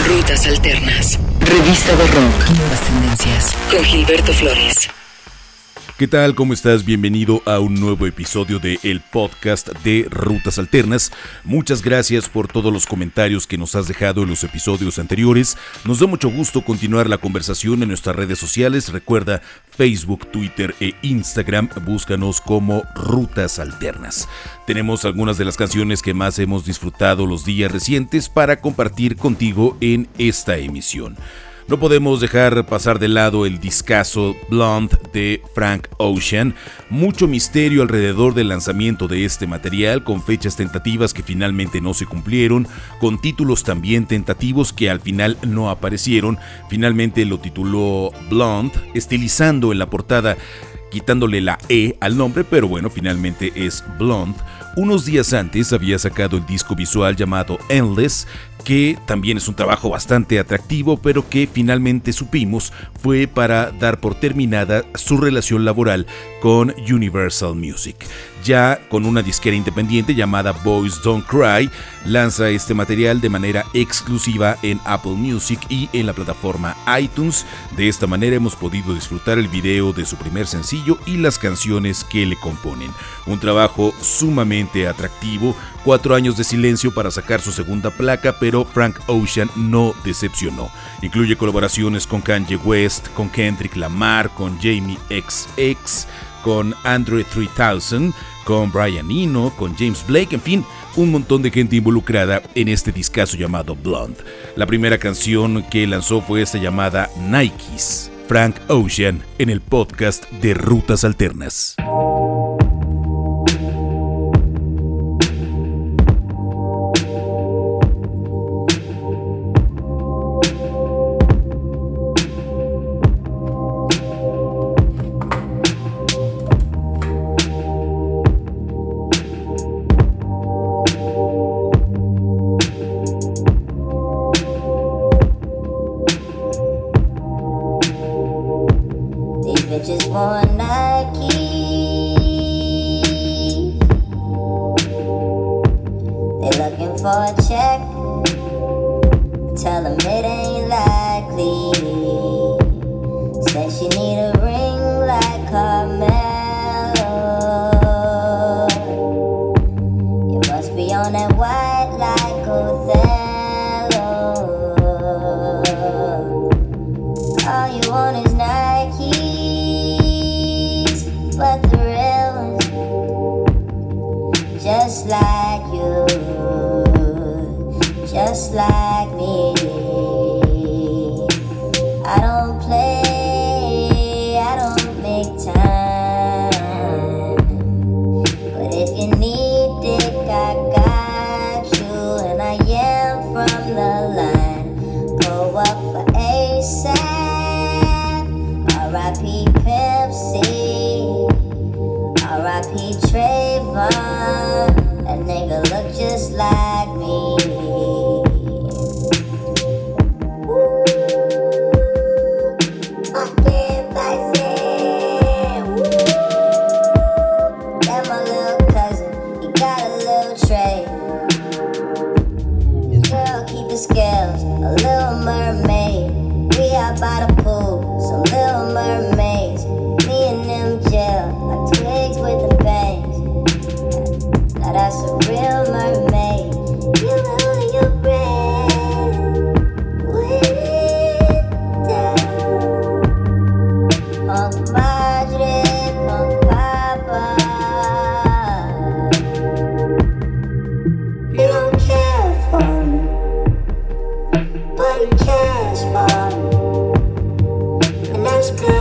Rutas Alternas. Revista de rock. Nuevas tendencias. Con Gilberto Flores. ¿Qué tal? ¿Cómo estás? Bienvenido a un nuevo episodio de el podcast de Rutas Alternas. Muchas gracias por todos los comentarios que nos has dejado en los episodios anteriores. Nos da mucho gusto continuar la conversación en nuestras redes sociales. Recuerda Facebook, Twitter e Instagram. Búscanos como Rutas Alternas. Tenemos algunas de las canciones que más hemos disfrutado los días recientes para compartir contigo en esta emisión. No podemos dejar pasar de lado el discazo Blonde de Frank Ocean. Mucho misterio alrededor del lanzamiento de este material, con fechas tentativas que finalmente no se cumplieron, con títulos también tentativos que al final no aparecieron. Finalmente lo tituló Blonde, estilizando en la portada, quitándole la E al nombre, pero bueno, finalmente es Blonde. Unos días antes había sacado el disco visual llamado Endless, que también es un trabajo bastante atractivo, pero que finalmente supimos fue para dar por terminada su relación laboral con Universal Music. Ya con una disquera independiente llamada Boys Don't Cry, lanza este material de manera exclusiva en Apple Music y en la plataforma iTunes. De esta manera hemos podido disfrutar el video de su primer sencillo y las canciones que le componen. Un trabajo sumamente atractivo, 4 años de silencio para sacar su segunda placa, pero Frank Ocean no decepcionó. Incluye colaboraciones con Kanye West, con Kendrick Lamar, con Jamie XX, con Andre 3000, con Brian Eno, con James Blake, en fin, un montón de gente involucrada en este discazo llamado Blonde. La primera canción que lanzó fue esta llamada Nikes. Frank Ocean en el podcast de Rutas Alternas. Bitches want Nike. They looking for a check. Tell them it ain't likely. Said she need a ring like Carmelo. You must be on that white like Othello. All you want is Nike. But the real ones, just like you, just like me. I don't play, I don't make time. But if you need dick, I got you. And I am from the line. Go up for ASAP. R.I.P. Pimp C. R.I.P. Trayvon, that nigga look just like me. Woo, fucking bison. Woo, that my little cousin, he got a little tray. His girl keep his scales, a little mermaid. We out by the pool, some little mermaids. Me and them gel, like twigs with the bangs. Now that's a real mermaid. You know your breath, with it down. Punk Madre, Punk Papa. You don't care for me, but he cares for me. And that's good.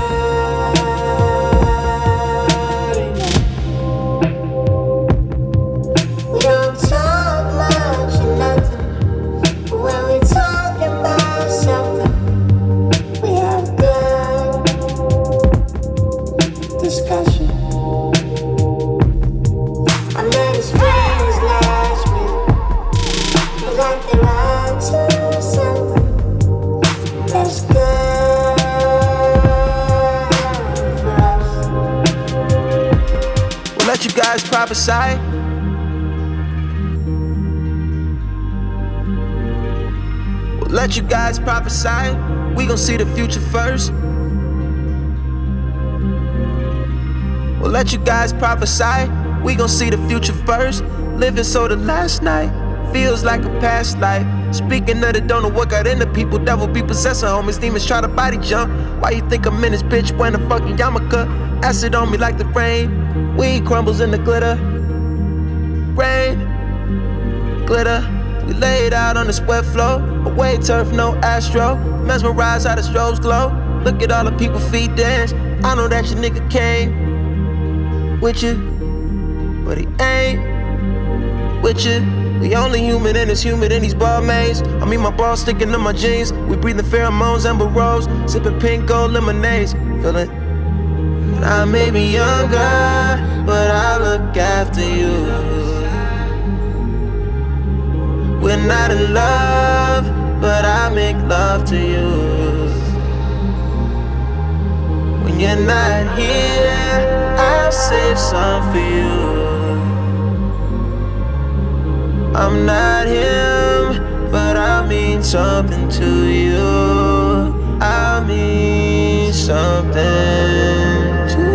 Let you guys prophesy. let you guys prophesy. We gon' see the future first. We'll let you guys prophesy. We gon' see the future first. Living so the last night feels like a past life. Speaking of the don't know what got into people. Devil be possessing homies. Demons try to body jump. Why you think I'm in this bitch wearing a fucking yarmulke? Acid on me like the rain. Weed crumbles in the glitter. Rain, glitter. We laid out on the sweat floor. Away turf, no astro. Mesmerized how the strobes glow. Look at all the people feet dance. I know that your nigga came with you, but he ain't with you. We only human and it's humid in these Balmains. I mean my balls sticking to my jeans. We breathing pheromones, amber rose. Sipping pink gold lemonades. Feel it? I may be younger, but I look after you. We're not in love, but I make love to you. When you're not here, I'll save some for you. I'm not him, but I mean something to you. I mean something to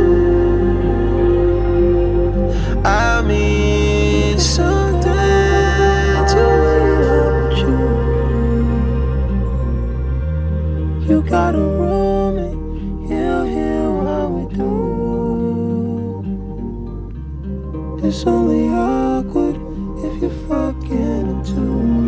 you. I mean something to you. You got a room and he'll hear what we do. It's only awkward if you're fucking him too.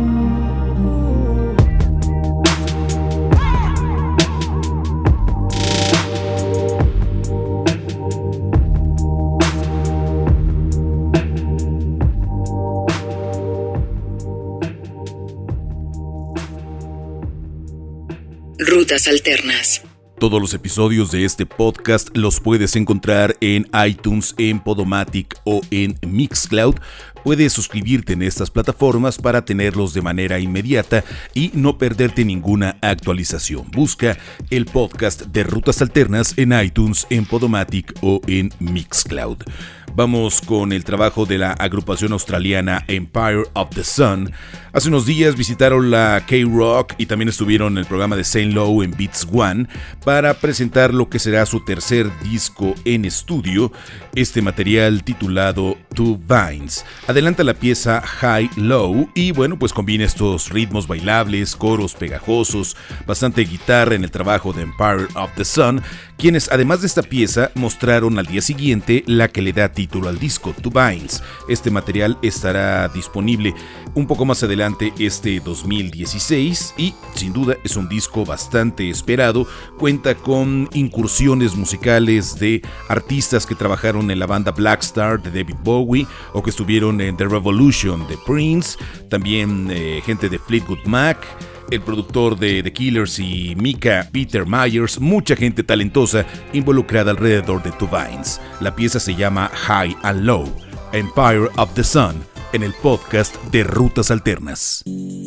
Rutas Alternas. Todos los episodios de este podcast los puedes encontrar en iTunes, en Podomatic o en Mixcloud. Puedes suscribirte en estas plataformas para tenerlos de manera inmediata y no perderte ninguna actualización. Busca el podcast de Rutas Alternas en iTunes, en Podomatic o en Mixcloud. Vamos con el trabajo de la agrupación australiana Empire of the Sun. Hace unos días visitaron la K-Rock y también estuvieron en el programa de Saint Lowe en Beats One para presentar lo que será su tercer disco en estudio, este material titulado Two Vines. Adelanta la pieza High Low y bueno, pues combina estos ritmos bailables, coros pegajosos, bastante guitarra en el trabajo de Empire of the Sun, quienes además de esta pieza mostraron al día siguiente la que le da título al disco, Two Vines. Este material estará disponible un poco más adelante este 2016 y sin duda es un disco bastante esperado. Cuenta con incursiones musicales de artistas que trabajaron en la banda Black Star de David Bowie o que estuvieron en The Revolution de Prince, también gente de Fleetwood Mac, el productor de The Killers y Mika, Peter Myers, mucha gente talentosa involucrada alrededor de Two Vines. La pieza se llama High and Low, Empire of the Sun, en el podcast de Rutas Alternas.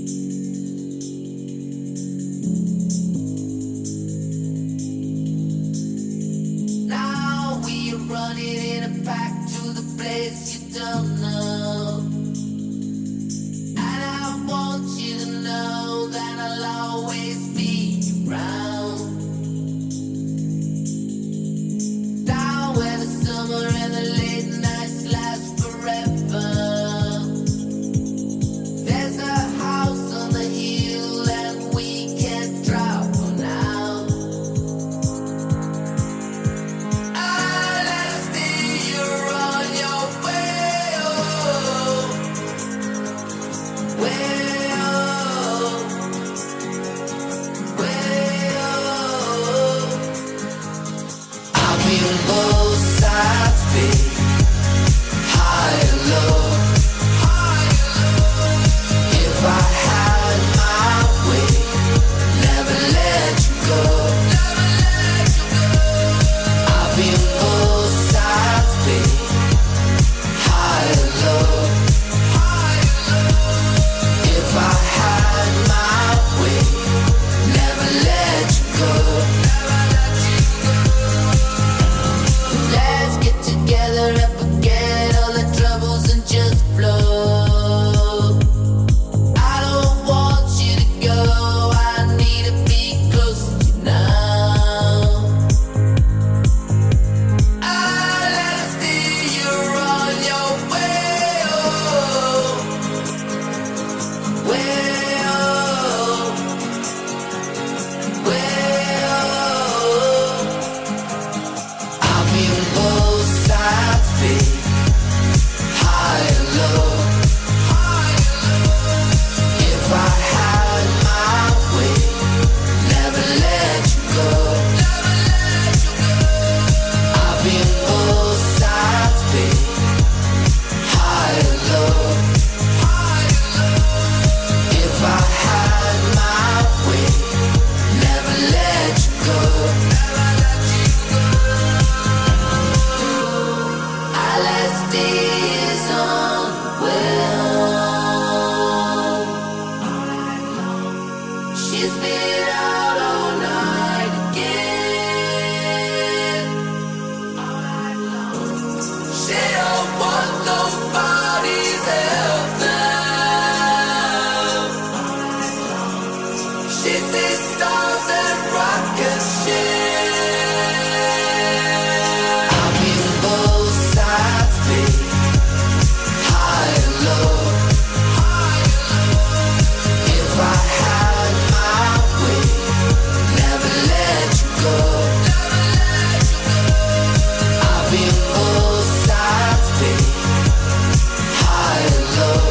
Now we are running in a pack to the place you don't know. And I want you to know that I'll always be around. Down where the summer and the late nights last forever. There's a house on the hill and we can't drop on out. I'll let steer you on your way. She's been out all night again. She don't want nobody's help now. She sees stars and rocket ships. I've been both sides, babe, high and low. If I had my way, never let you go. I've been both sides, babe, high and low.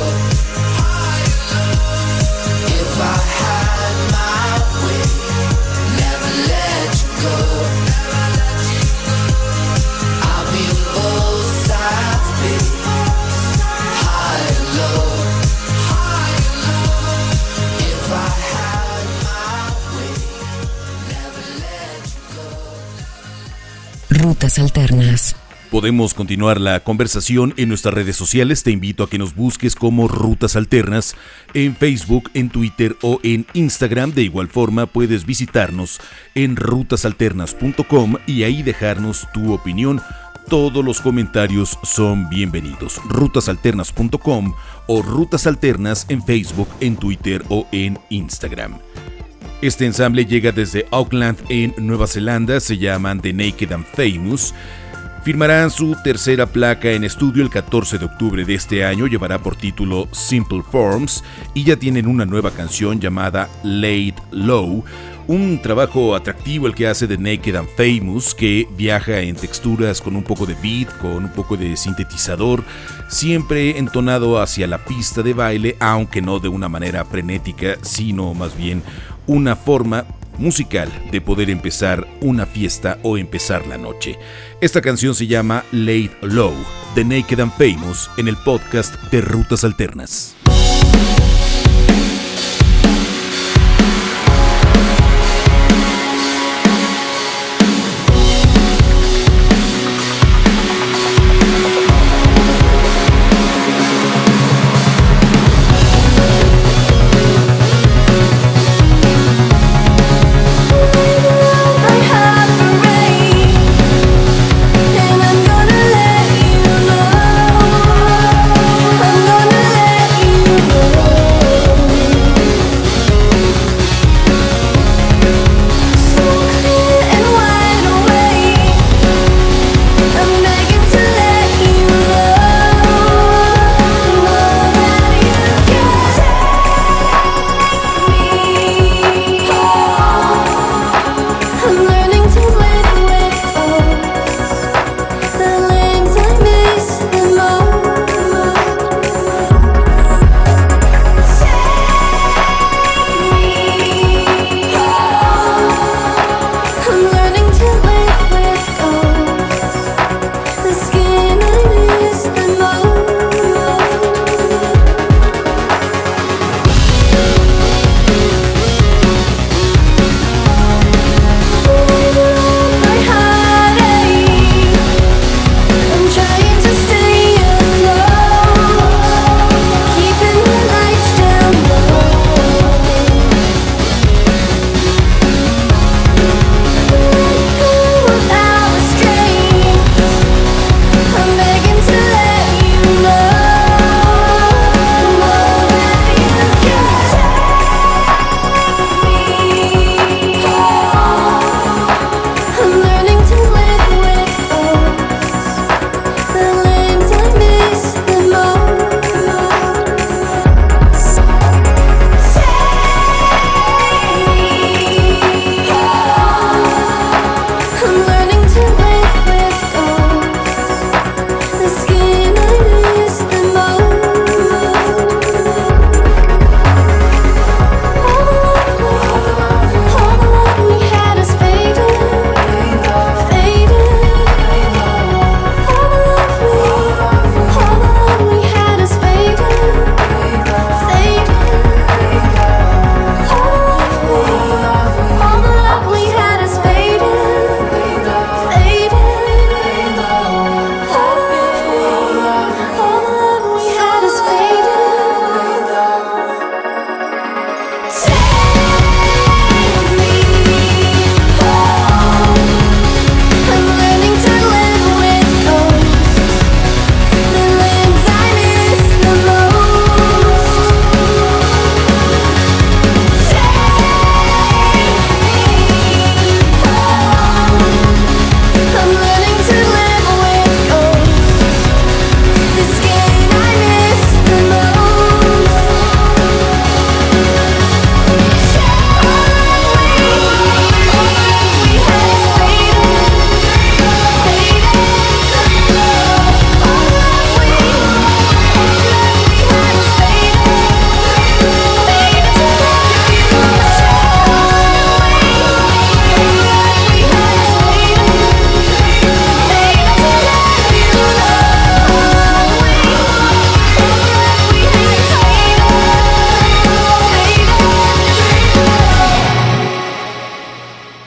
If I had my way, never let you go. I've been both sides, babe, high and low. If I had my way, never let you go. Rutas Alternas. Podemos continuar la conversación en nuestras redes sociales. Te invito a que nos busques como Rutas Alternas en Facebook, en Twitter o en Instagram. De igual forma, puedes visitarnos en rutasalternas.com y ahí dejarnos tu opinión. Todos los comentarios son bienvenidos. Rutasalternas.com o Rutas Alternas en Facebook, en Twitter o en Instagram. Este ensamble llega desde Auckland, en Nueva Zelanda. Se llaman The Naked and Famous. Firmarán su tercera placa en estudio el 14 de octubre de este año. Llevará por título Simple Forms y ya tienen una nueva canción llamada Laid Low. Un trabajo atractivo el que hace The Naked and Famous, que viaja en texturas con un poco de beat, con un poco de sintetizador, siempre entonado hacia la pista de baile, aunque no de una manera frenética, sino más bien una forma musical de poder empezar una fiesta o empezar la noche. Esta canción se llama Laid Low, The Naked and Famous, en el podcast de Rutas Alternas. I'm gonna let you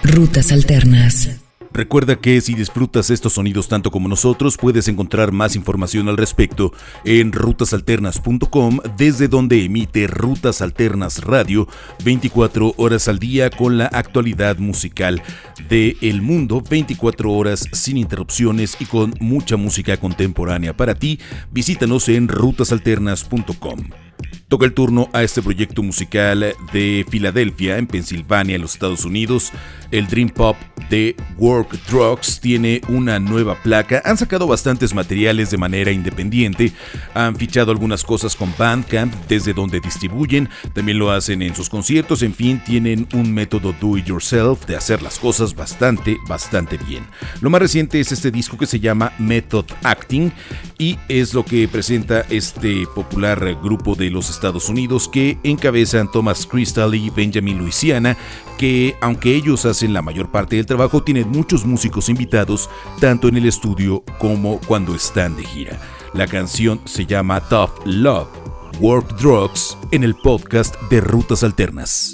Rutas Alternas. Recuerda que si disfrutas estos sonidos tanto como nosotros, puedes encontrar más información al respecto en rutasalternas.com, desde donde emite Rutas Alternas Radio 24 horas al día con la actualidad musical del mundo, 24 horas sin interrupciones y con mucha música contemporánea para ti. Visítanos en rutasalternas.com. Toca el turno a este proyecto musical de Filadelfia, en Pensilvania, en los Estados Unidos. El Dream Pop de Work Drugs tiene una nueva placa. Han sacado bastantes materiales de manera independiente. Han fichado algunas cosas con Bandcamp, desde donde distribuyen. También lo hacen en sus conciertos. En fin, tienen un método do it yourself de hacer las cosas bastante bien. Lo más reciente es este disco que se llama Method Acting y es lo que presenta este popular grupo de los Estados Unidos que encabezan Thomas Crystal y Benjamin Louisiana, que aunque ellos hacen la mayor parte del trabajo, tienen muchos músicos invitados tanto en el estudio como cuando están de gira. La canción se llama Tough Love, Work Drugs, en el podcast de Rutas Alternas.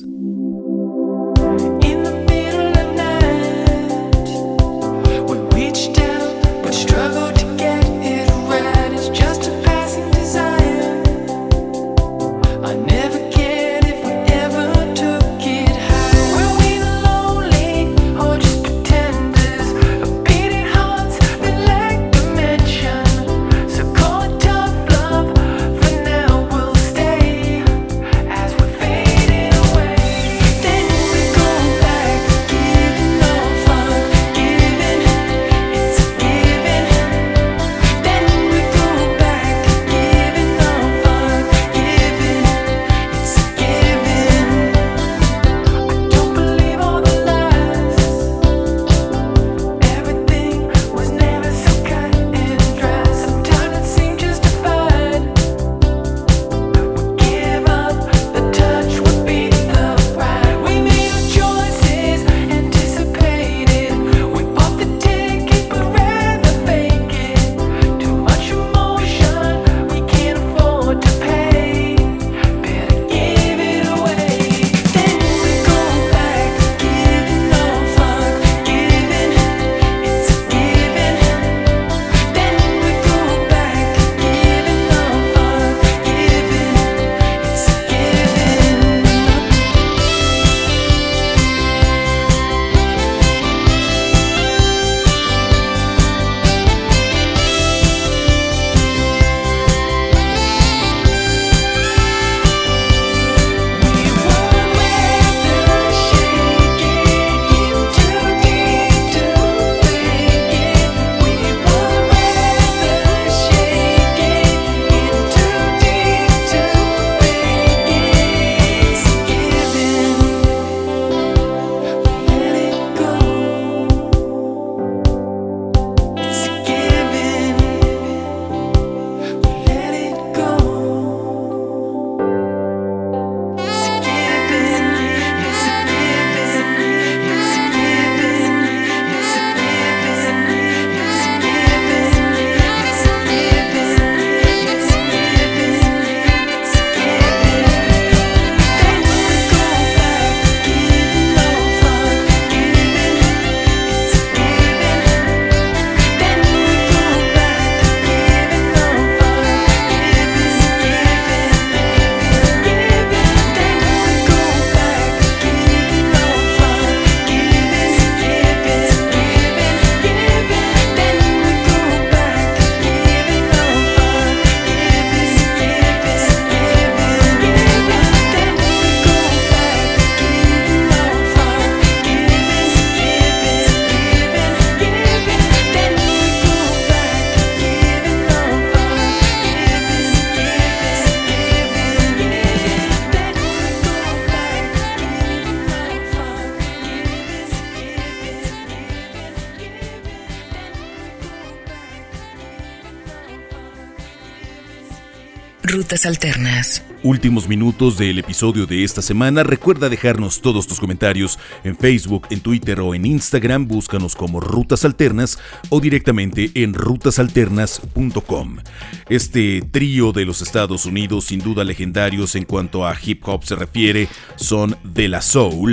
Rutas Alternas. Últimos minutos del episodio de esta semana. Recuerda dejarnos todos tus comentarios en Facebook, en Twitter o en Instagram. Búscanos como Rutas Alternas o directamente en rutasalternas.com. Este trío de los Estados Unidos, sin duda legendarios en cuanto a hip hop se refiere, son De La Soul.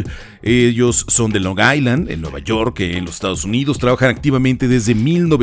Ellos son de Long Island, en Nueva York, en los Estados Unidos. Trabajan activamente desde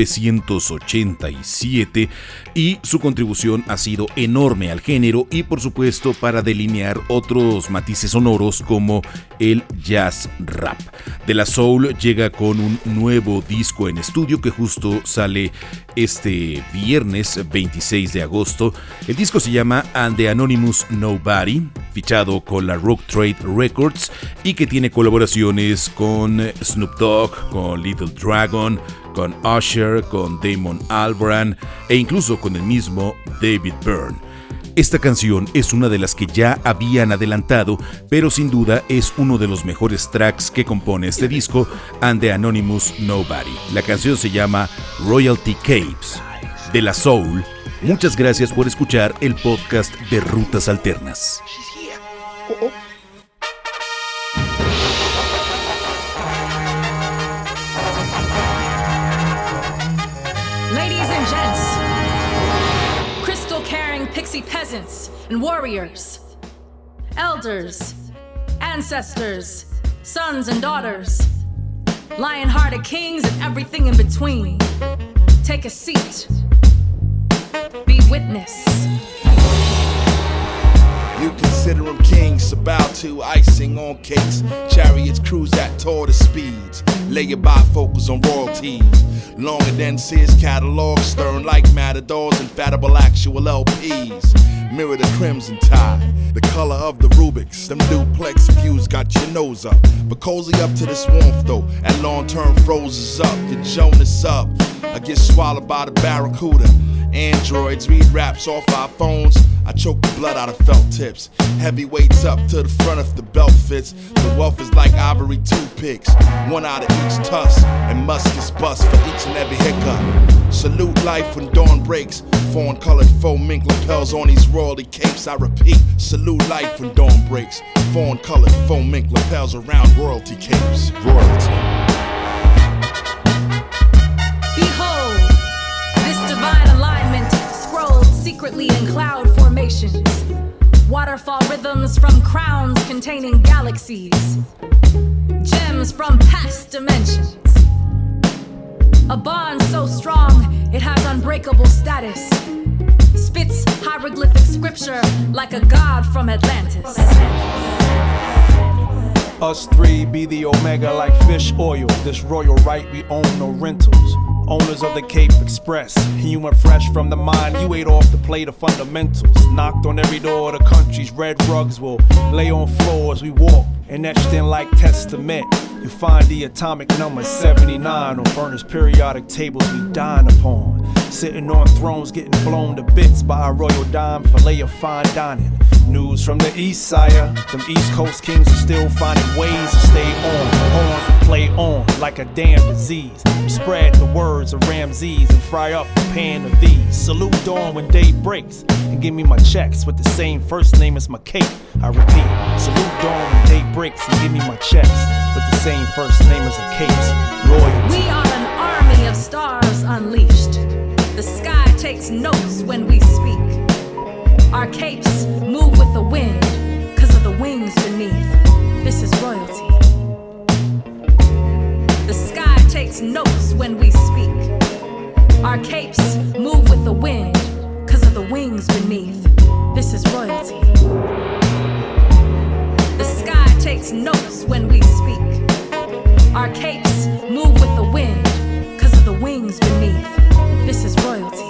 1987 y su contribución ha sido enorme al género y, por supuesto, para delinear otros matices sonoros como el jazz rap. De La Soul llega con un nuevo disco en estudio que justo sale este viernes 26 de agosto. El disco se llama And the Anonymous Nobody, fichado con la Rock Trade Records y que tiene colaboraciones con Snoop Dogg, con Little Dragon, con Usher, con Damon Albarn e incluso con el mismo David Byrne. Esta canción es una de las que ya habían adelantado, pero sin duda es uno de los mejores tracks que compone este disco, And the Anonymous Nobody. La canción se llama Royalty Capes. De La Soul, muchas gracias por escuchar el podcast de Rutas Alternas. Ladies and gents, crystal-carrying pixie peasants and warriors, elders, ancestors, sons and daughters, lion-hearted kings and everything in between. Take a seat. Be witness. You consider them kings, so bow to icing on cakes. Chariots cruise at tortoise speeds. Lay your bifocals on royalties. Longer than Sears catalog, stern like matadors, infallible actual LPs. Mirror the crimson tide, the color of the Rubiks. Them duplex views got your nose up. But cozy up to this warmth though, at long-term froze up. Get Jonas up, I get swallowed by the barracuda. Androids read raps off our phones. I choke the blood out of felt tips. Heavyweights up to the front if the belt fits. The wealth is like ivory toothpicks. One out of each tusk, and muskets bust for each and every hiccup. Salute life when dawn breaks. Fawn colored faux mink lapels on these royalty capes. I repeat, salute life when dawn breaks. Fawn colored faux mink lapels around royalty capes. Royalty. Behold, this divine alignment scrolled secretly in cloud formations. Waterfall rhythms from crowns containing galaxies. Gems from past dimensions. A bond so strong it has unbreakable status. Spits hieroglyphic scripture like a god from Atlantis. Us three be the omega like fish oil. This royal right, we own no rentals. Owners of the Cape Express, human fresh from the mine. You ate off the plate of fundamentals. Knocked on every door of the country's red rugs will lay on floors we walk and etched in like testament. You find the atomic number 79 on furnace periodic tables we dine upon. Sitting on thrones getting blown to bits by a royal dime fillet of fine dining. News from the east sire, them East Coast kings are still finding ways to stay on. Horns will play on like a damn disease. We spread the words of Ramses and fry up a pan of these. Salute dawn when day breaks and give me my checks with the same first name as my cape. I repeat, salute dawn when day breaks and give me my checks with the same first name as a cape's. Royalty. We are an army of stars unleashed. The sky takes notes when we speak. Our capes move with the wind, 'cause of the wings beneath. This is royalty. The sky takes notes when we speak. Our capes move with the wind, 'cause of the wings beneath. This is royalty. The sky takes notes when we speak. Our capes move with the wind, 'cause of the wings beneath. This is royalty.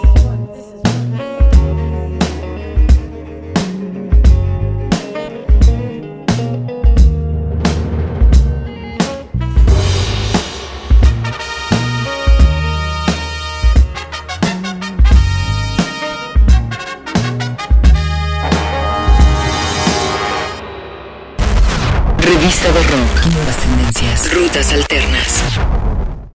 Revista de Rock. Nuevas tendencias. Rutas Alternas.